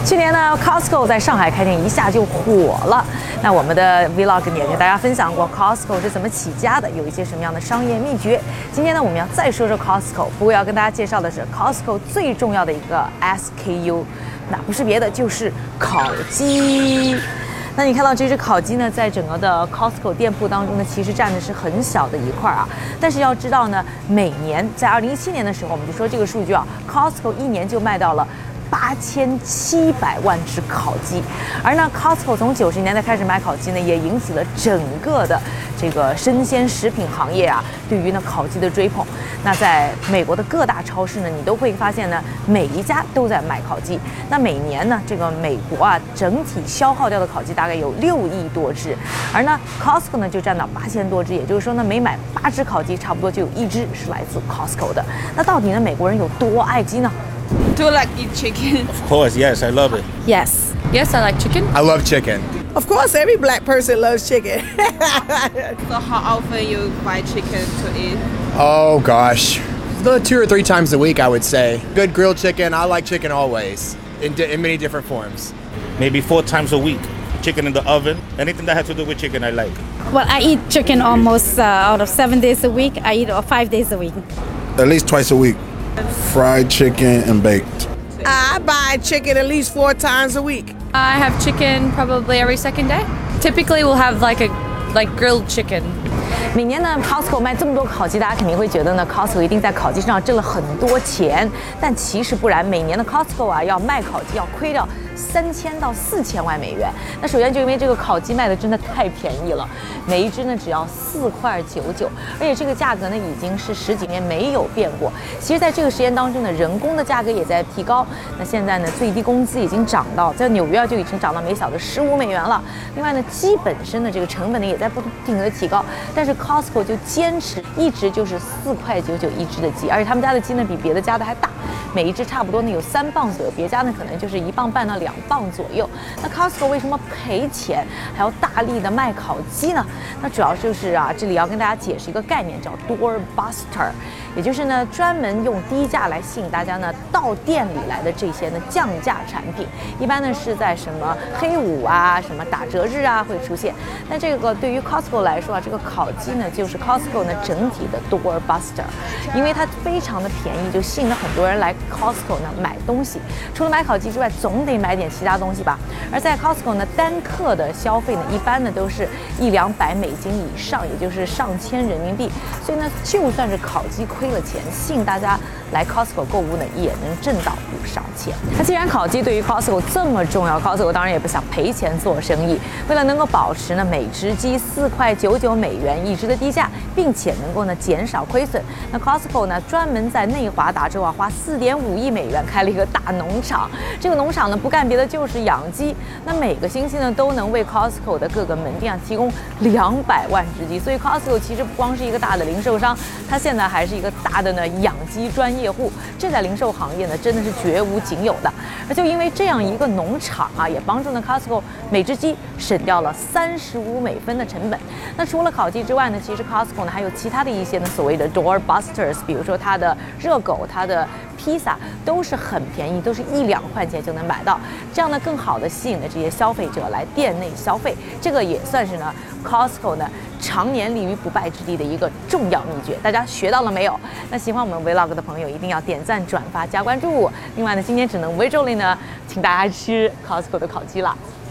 去年呢 ，Costco 在上海开店一下就火了。那我们的 Vlog 也跟大家分享过 Costco 是怎么起家的，有一些什么样的商业秘诀。今天呢，我们要再说说 Costco， 不过要跟大家介绍的是 Costco 最重要的一个 SKU， 那不是别的，就是烤鸡。那你看到这只烤鸡呢，在整个的 Costco 店铺当中呢，其实占的是很小的一块啊。但是要知道呢，每年在2017年的时候，我们就说这个数据啊 ，Costco 一年就卖到了8700万只烤鸡，而呢 ，Costco 从90年代开始卖烤鸡呢，也引起了整个的这个生鲜食品行业啊，对于呢烤鸡的追捧。那在美国的各大超市呢，你都会发现呢，每一家都在卖烤鸡。那每年呢，这个美国啊，整体消耗掉的烤鸡大概有6亿多只，而呢 ，Costco 呢就占到8000多只，也就是说呢，每买8只烤鸡，差不多就有1只是来自 Costco 的。那到底呢，美国人有多爱鸡呢？ Do you like eat chicken? Of course, yes, I love it. Yes. Yes, I like chicken. I love chicken. Of course, every black person loves chicken. So how often you buy chicken to eat? Oh gosh, 2 or 3 times a week, I would say. Good grilled chicken. I like chicken always, in many different forms. Maybe 4 times a week. Chicken in the oven. Anything that has to do with chicken, I like. Well, I eat chicken almost out of 7 days a week. I eat 5 days a week. At least twice a week. Fried chicken and baked. I buy chicken at least 4 times a week. I have chicken probably every second day. Typically, we'll have like grilled chicken. 每年呢 ，Costco 卖这么多烤鸡，大家肯定会觉得呢 ，Costco 一定在烤鸡上挣了很多钱。但其实不然，每年的 Costco 啊，要卖烤鸡要亏掉3000到4000万美元。那首先就因为这个烤鸡卖的真的太便宜了，每一只呢只要4.99块，而且这个价格呢已经是10几年没有变过。其实，在这个时间当中呢，人工的价格也在提高。那现在呢，最低工资已经涨到在纽约就已经涨到每小时15美元了。另外呢，鸡本身的这个成本呢也在不停的提高，但是 Costco 就坚持一直就是4.99块一只的鸡，而且他们家的鸡呢比别的家的还大，每一只差不多呢有3磅左右，别家呢可能就是1磅半到2磅左右。那 Costco 为什么赔钱还要大力的卖烤鸡呢？那主要就是啊，这里要跟大家解释一个概念，叫 doorbuster， 也就是呢专门用低价来吸引大家呢到店里来的这些呢降价产品，一般呢是在什么黑五啊、什么打折日啊会出现。那这个对于 Costco 来说啊，这个烤鸡呢就是 Costco 呢整体的 doorbuster， 因为它非常的便宜，就吸引了很多人来 Costco 呢买东西。除了买烤鸡之外，总得买点其他东西吧。而在 Costco 呢，单客的消费呢，一般呢都是100-200美金以上，也就是上千人民币。所以呢，就算是烤鸡亏了钱，吸引大家来 Costco 购物呢，也能挣到不少钱。那既然烤鸡对于 Costco 这么重要，Costco 当然也不想赔钱做生意。为了能够保持呢每只鸡4.99块美元一只的低价，并且能够呢减少亏损，那 Costco 呢专门在内华达州啊花4.5亿美元开了一个大农场。这个农场呢不干别的就是养鸡。那每个星期呢都能为 Costco 的各个门店啊提供200万只鸡。所以 Costco 其实不光是一个大的零售商，它现在还是一个大的呢养鸡专业户。这在零售行业呢真的是绝无仅有的。而就因为这样一个农场啊，也帮助呢 Costco 每只鸡省掉了35美分的成本。那除了烤鸡之外呢，其实 Costco 呢还有其他的一些呢所谓的 doorbusters， 比如说它的热狗、它的披萨都是很便宜，都是1-2块钱就能买到，这样呢更好的吸引了这些消费者来店内消费。这个也算是呢 Costco 呢常年立于不败之地的一个重要秘诀。大家学到了没有？那喜欢我们 Vlog 的朋友一定要点赞、转发、加关注。另外呢，今天只能 visually 呢，请大家吃 Costco 的烤鸡啦。